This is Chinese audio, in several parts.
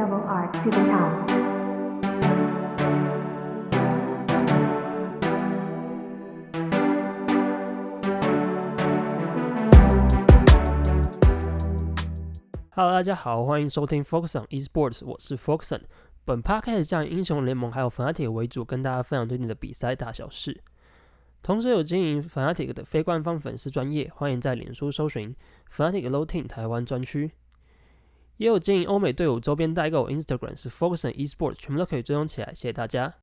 double R to the top. Hello， 大家好，欢迎收听 Focus on Esports， 我是 Focus on。本 podcast 将以英雄联盟还有 Fnatic 为主，跟大家分享最近的比赛大小事。同时有经营 Fnatic 的非官方粉丝专页，欢迎在脸书搜寻 Fnatic Low Team 台湾专区。也有经营欧美队伍周边代购 ，Instagram 是 Focus on Esports， 全部都可以追踪起来，谢谢大家。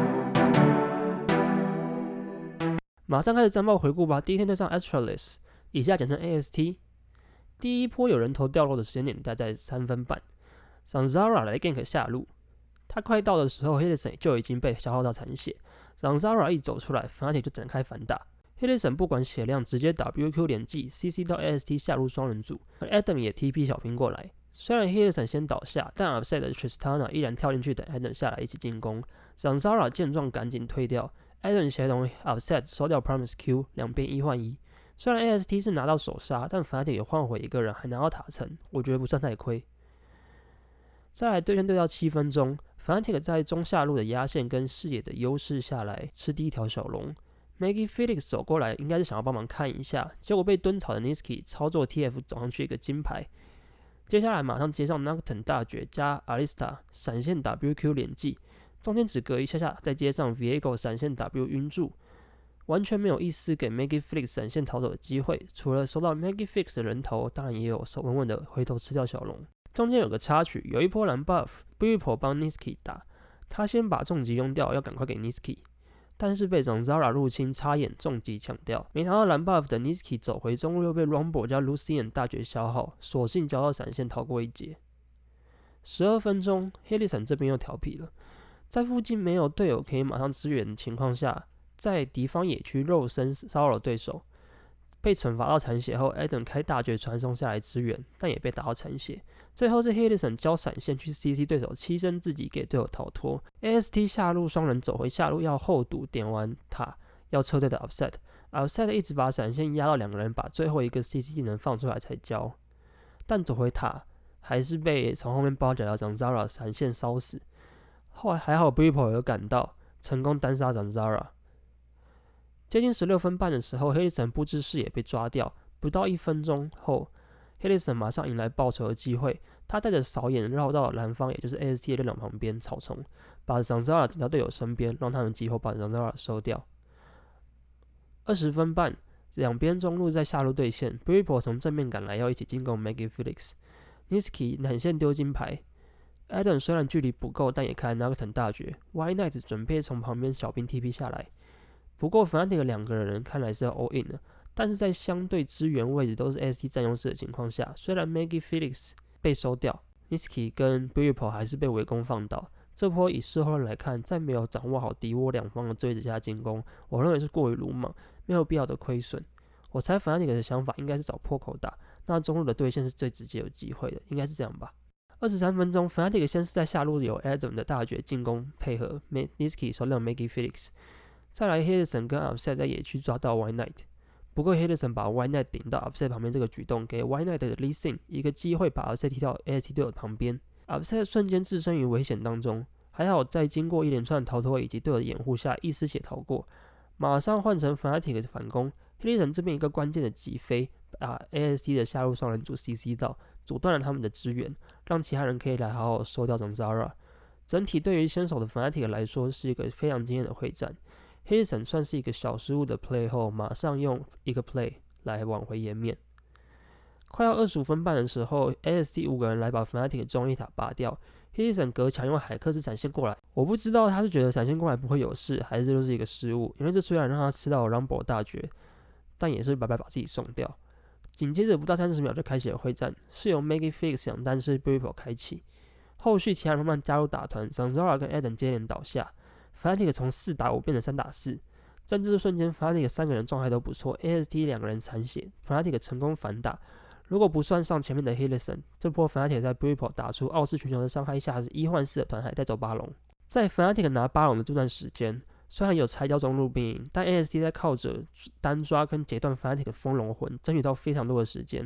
马上开始战报回顾吧。第一天对上 Astralis， 以下简称 AST。第一波有人头掉落的时间点大概3分半，让 Zara 来 gank 下路。他快到的时候 ，Hilson 就已经被消耗到残血。让 Zara 一走出来 ，Fnatic 就展开反打。Hilson 不管血量，直接 WQ 连击 CC 到 AST 下路双人组，而 Adam 也 TP 小兵过来。虽然 Hilson 先倒下，但 Upset 的 Tristana 依然跳进去等 Adam 下来一起进攻。让 Zara 见状赶紧推掉 ，Adam 协同 Upset 收掉 Promise Q， 两边1换1。虽然 AST 是拿到首杀，但 Fnatic 也换回一个人，还拿到塔层，我觉得不算太亏。再来对线对到7分钟 ，Fnatic 在中下路的压线跟视野的优势下来吃第一条小龙。Maggie Felix 走过来，应该是想要帮忙看一下，结果被蹲草的 Nisqy 操作 TF 走上去一个金牌。接下来马上接上 Nocturne 大绝加 Alista 闪现 WQ 连击，中间只隔一下下，再接上 Viego 闪现 W 晕住。完全没有一丝给 Maggie Felix 闪现逃走的机会，除了收到 Maggie Felix 的人头，当然也有手稳稳的回头吃掉小龙。中间有个插曲，有一波蓝 buff，Bwipo 帮 Nisqy 打，他先把重击用掉，要赶快给 Nisqy， 但是被 Zara 入侵插眼重击抢掉，没拿到蓝 buff 的 Nisqy 走回中路又被 Rumble 加 Lucian 大绝消耗，索性交到闪现逃过一劫。12分钟 ，Hilson 这边又调皮了，在附近没有队友可以马上支援的情况下，在敌方野区肉身骚扰对手，被惩罚到残血后 ，Adam 开大绝传送下来支援，但也被打到残血。最后是 Hilson 交闪现去 CC 对手，牺牲自己给队友逃脱。AST 下路双人走回下路要后堵，点完塔要撤退的 Upset 一直把闪现压到2个人，把最后一个 CC 技能放出来才交，但走回塔还是被从后面包夹到长 Zara 闪现烧死。后来还好 Bwipo 有赶到，成功单杀长 Zara。接近16分半的时候 ，Hilson 不知视野被抓掉，不到1分钟后 ，Hilson 马上迎来报仇的机会。他带着扫眼绕到蓝方，也就是 AST 的两旁边草丛，把 Zara 顶到队友身边，让他们集火把 Zara 收掉。20分半，两边中路在下路对线 ，Bwipo 从正面赶来要一起进攻 Maggie Felix，Nisqy 闪现丢金牌。Adam 虽然距离不够，但也开 Nocturne 大绝 ，Y Knight 准备从旁边小兵 TP 下来。不过 Fnatic 2个人看来是要 all in 了，但是在相对支援位置都是 AST 占优势的情况下，虽然 Maggie Felix 被收掉 ，Nisqy 跟 Bwipo 还是被围攻放倒。这波以事后来看，在没有掌握好敌我两方的追着下进攻，我认为是过于鲁莽，没有必要的亏损。我猜 Fnatic 的想法应该是找破口打，那中路的对线是最直接有机会的，应该是这样吧。23分钟 ，Fnatic 先是在下路有 Adam 的大绝进攻配合 Nisqy 收掉 Maggie Felix。再来 Hilson 跟 Upset 在野区抓到 Y Knight， 不过 Hilson 把 Y Knight 顶到 Upset 旁边这个举动，给 Y Knight 的 Leasing 一个机会把 Upset 踢到 AST 队友旁边 ，Upset 瞬间置身于危险当中，还好在经过一连串逃脱以及队友的掩护下，一丝血逃过，马上换成 Fnatic 的反攻 ，Hilson 这边一个关键的击飞，把 AST 的下路双人组 CC 到，阻断了他们的支援，让其他人可以来好好收掉 Zara。整体对于先手的 Fnatic 来说是一个非常惊艳的会战。Hilson 算是一个小失误的 play 后，马上用一个 play 来挽回颜面。快要25分半的时候 ，AST 5个人来把 Fnatic 中一塔拔掉。Hilson 隔墙用海克斯闪现过来，我不知道他是觉得闪现过来不会有事，还是这就是一个失误。因为这虽然让他吃到了 Rumble 大绝，但也是白白把自己送掉。紧接着不到30秒就开启了会战，是由 Maggie Felix 想单是 Bwipo 开启，后续其他人慢慢加入打团 ，Zara 跟 Adam 接连倒下。Fnatic 从4打5变成3打4，在这瞬间 Fnatic 3个人状态都不错 ，AST 2个人残血 ，Fnatic 成功反打。如果不算上前面的 Hilson， 这波 Fnatic 在 Bwipo 打出傲视群雄的伤害下，是1换4的团海带走巴龙。在 Fnatic 拿巴龙的这段时间，虽然有拆掉中路兵营，但 AST 在靠着单抓跟截断 Fnatic 的风龙魂，争取到非常多的时间。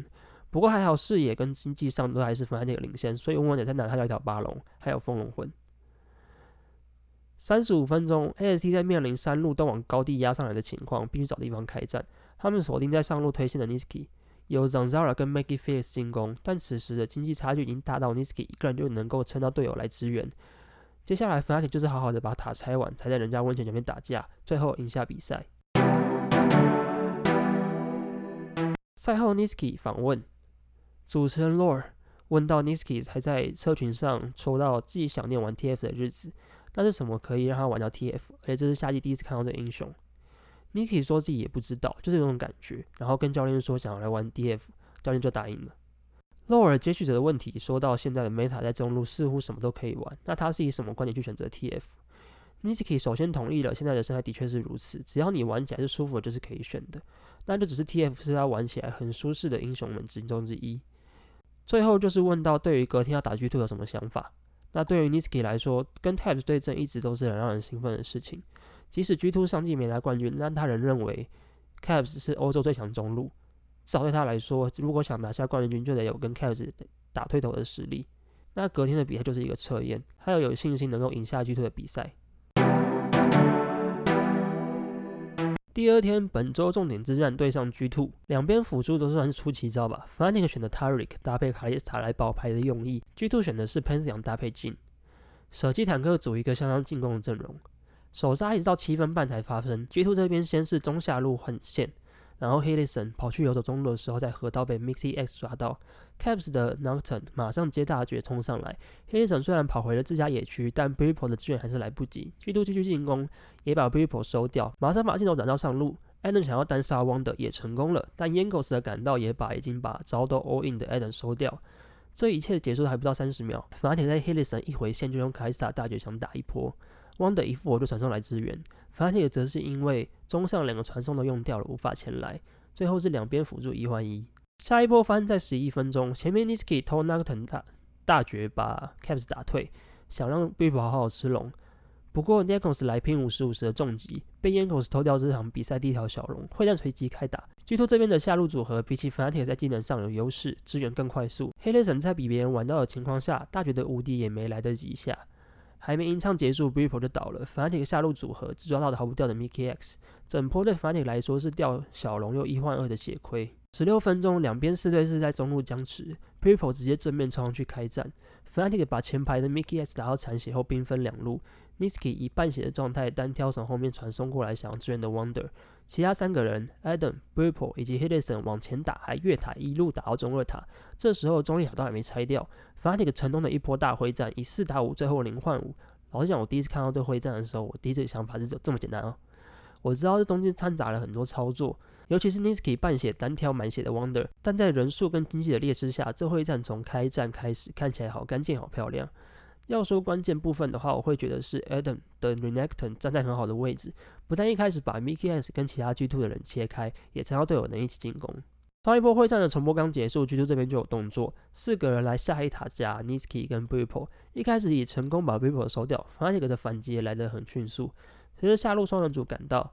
不过还好视野跟经济上都还是 Fnatic 领先，所以温也在拿下一条巴龙，还有风龙魂。35分钟 ，AST 在面临三路都往高地压上来的情况，必须找地方开战。他们锁定在上路推线的 Nisqy， 由 Zanzara 跟 Maggie Felix 进攻，但此时的经济差距已经大到 Nisqy 一个人就能够撑到队友来支援。接下来 Fnatic 就是好好的把塔拆完，才在人家温泉前面打架，最后赢下比赛。赛后 Nisqy 访问主持人 Lore， 问到 Nisqy 还在社群上说到自己想念玩 TF 的日子，那是什么可以让他玩到 TF？ 而且这是夏季第一次看到这个英雄。Nisqy 说自己也不知道，就是有种感觉，然后跟教练说想要来玩 TF， 教练就答应了。Lore 接续者的问题说到现在的 Meta 在中路似乎什么都可以玩，那他是以什么观点去选择 TF？Nisqy 首先同意了，现在的生态的确是如此，只要你玩起来是舒服的，就是可以选的。那就只是 TF 是他玩起来很舒适的英雄们之中之一。最后就是问到对于隔天要打 G2 有什么想法？那对于 Nisqy 来说，跟 Tabs 对阵一直都是很让人兴奋的事情。即使 G2 上季没拿冠军，但他仍认为 Tabs 是欧洲最强中路。至少对他来说，如果想拿下冠军，就得有跟 Tabs 打对头的实力。那隔天的比赛就是一个测验，还有信心能够赢下 G2 的比赛。第二天，本周重点之战对上 G2， 两边辅助都算是出奇招吧。Fnatic 选的 Taric 搭配卡莉斯塔来保牌的用意 ，G2 选的是 Pantheon 搭配 Jhin， 舍弃坦克组一个相当进攻的阵容。首杀一直到7分半才发生 ，G2 这边先是中下路横线，然后 Hilison 跑去游走中路的时候，在河道被 Mixi X 抓到 ，Caps 的 Nocturne 马上接大绝冲上来 ，Hilison 虽然跑回了自家野区，但 Bwipo 的支援还是来不及 ，G2 继续进攻，也把 Bwipo 收掉，马上把镜头转到上路 ，Adam 想要单杀 Wonder 也成功了，但 Jankos 的赶到也已经把招都 all in 的 Adam 收掉。这一切结束还不到30秒 ，Fnatic 在 Hilison 一回线就用卡莉斯塔大绝想打一波。Wonder 一复活就传送来支援 ，Fnatic 则是因为中上2个传送都用掉了，无法前来。最后是两边辅助1换1。下一波发生在11分钟，前面 Nisqy 偷 Nocturne 大绝把 Caps 打退，想让 Bwipo 好好吃龙。不过 Jankos 来拼50-50的重击，被 Jankos 偷掉这场比赛第一条小龙，会战随即开打。G2 这边的下路组合比起 Fnatic 在技能上有优势，支援更快速。Hilison 在比别人晚到的情况下，大绝的无敌也没来得及下。还没吟唱结束 ，Bwipo 就倒了。Fnatic 下路组合只抓到逃不掉的 Mickey X， 整波对 Fnatic 来说是掉小龙又1换2的血亏。16分钟，两边4对4在中路僵持 ，Bwipo 直接正面冲上去开战。Fnatic 把前排的 Mickey X 打到残血后兵分两路 ，Nisqy 以半血的状态单挑从后面传送过来想要支援的 Wonder， 其他3个人 Adam、Bwipo 以及 Hilison 往前打，还越塔一路打到中2塔。这时候中立塔都还没拆掉。Fnatic 成功的一波大会战，以4打5，最后0换5。老实讲，我第一次看到这会战的时候，我第一次想法是这么简单哦。我知道这中间掺杂了很多操作，尤其是 Nisqy 半血单挑满血的 Wonder， 但在人数跟经济的劣势下，这会战从开战开始看起来好干净、好漂亮。要说关键部分的话，我会觉得是 Adam 的 Renekton 站在很好的位置，不但一开始把 Mickey S 跟其他 G2 的人切开，也猜到队友能一起进攻。上一波会战的重播刚结束 ，G2 这边就有动作，4个人来下一塔加 Nisqy 跟 Bwipo， 一开始也成功把 Bwipo 收掉 ，Fnatic 的反击也来得很迅速。随着下路双人组赶到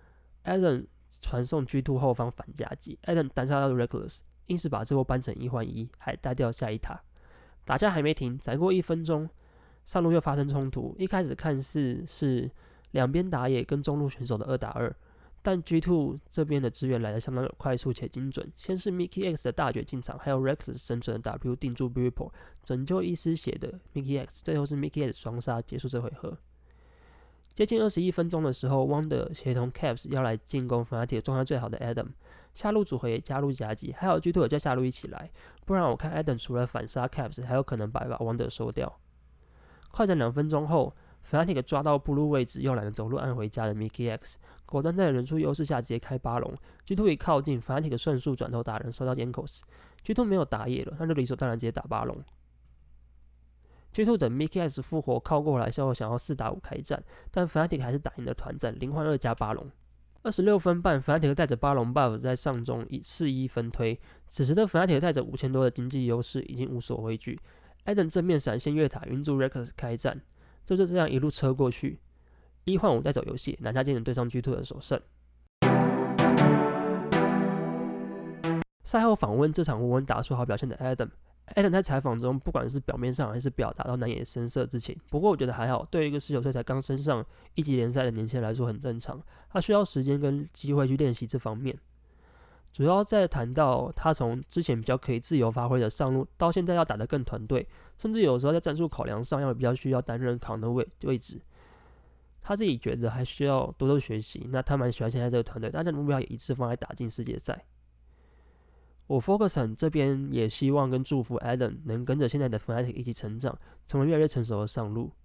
，Adam 传送 G2 后方反夹击 ，Adam 单杀到 Reckless， 硬是把这波扳成1换1，还带掉下一塔。打架还没停，再过1分钟，上路又发生冲突。一开始看似是两边打野跟中路选手的2打2。但 G2 这边的支援来得相当有快速且精准，先是 Mickey X 的大绝进场，还有 Rex 生存的 W 定住 Bwipo， 拯救一丝血的 Mickey X， 最后是 Mickey X 双杀结束这回合。接近21分钟的时候 ，Wonder 协同 Caps 要来进攻 Fnatic 状态最好的 Adam， 下路组合也加入夹击，还有 G2 也叫下路一起来，不然我看 Adam 除了反杀 Caps， 还有可能把 Wonder 收掉。快战2分钟后。Fnatic 抓到布路位置又懒得走路按回家的 Mickey X， 果断在人数优势下直接开8龙。G2 一靠近 ，Fnatic 顺速转头打人收到 Jankos。G2 没有打野了，那就理所当然直接打8龙。G2 等 Mickey X 复活靠过来后，想要4打5开战，但 Fnatic 还是打赢了团战，0换2加8龙。26分半 ，Fnatic 带着8龙 buff 在上中以4-1分推。此时的 Fnatic 带着5000多的经济优势，已经无所畏惧。Adam 正面闪现越塔，云住 Rex 开战。就这样一路车过去，1换5带走游戏，拿下今年对上 G2 的首胜。 赛后访问这场稳稳打出好表现的 Adam 在采访中，不管是表面上还是表达都难掩深色之情。不过我觉得还好，对于一个19岁才刚升上一级联赛的年轻人来说很正常。他需要时间跟机会去练习这方面。主要在谈到他从之前比较可以自由发挥的上路，到现在要打得更团队，甚至有时候在战术考量上要比较需要担任扛的位置。他自己觉得还需要多多学习。那他蛮喜欢现在这个团队，大家的目标也一致放在打进世界赛。我 Ferguson 这边也希望跟祝福 Adam 能跟着现在的 Fnatic 一起成长，成为越来越成熟的上路。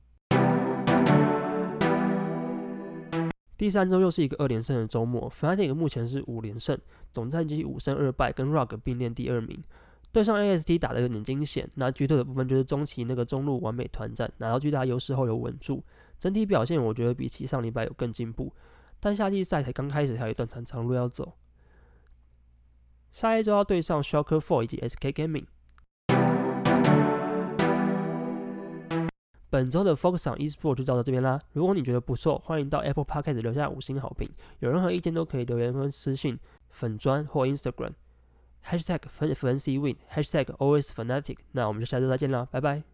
第3周又是一个2连胜的周末 ，Fnatic 目前是5连胜，总战绩5胜2败，跟 Rogue 并列第2名。对上 AST 打得有点惊险，那巨特的部分就是中期那个中路完美团战，拿到巨大优势后有稳住，整体表现我觉得比起上礼拜有更进步，但夏季赛才刚开始，还有一段长路要走。下一周要对上 Shocker 4以及 SK Gaming。本周的 Focus on Esports 就到这边啦。如果你觉得不错，欢迎到 Apple Podcast 留下5星好评。有任何意见都可以留言或私讯粉专或 Instagram #FancyWin #alwaysFnatic。那我们就下周再见啦，拜拜。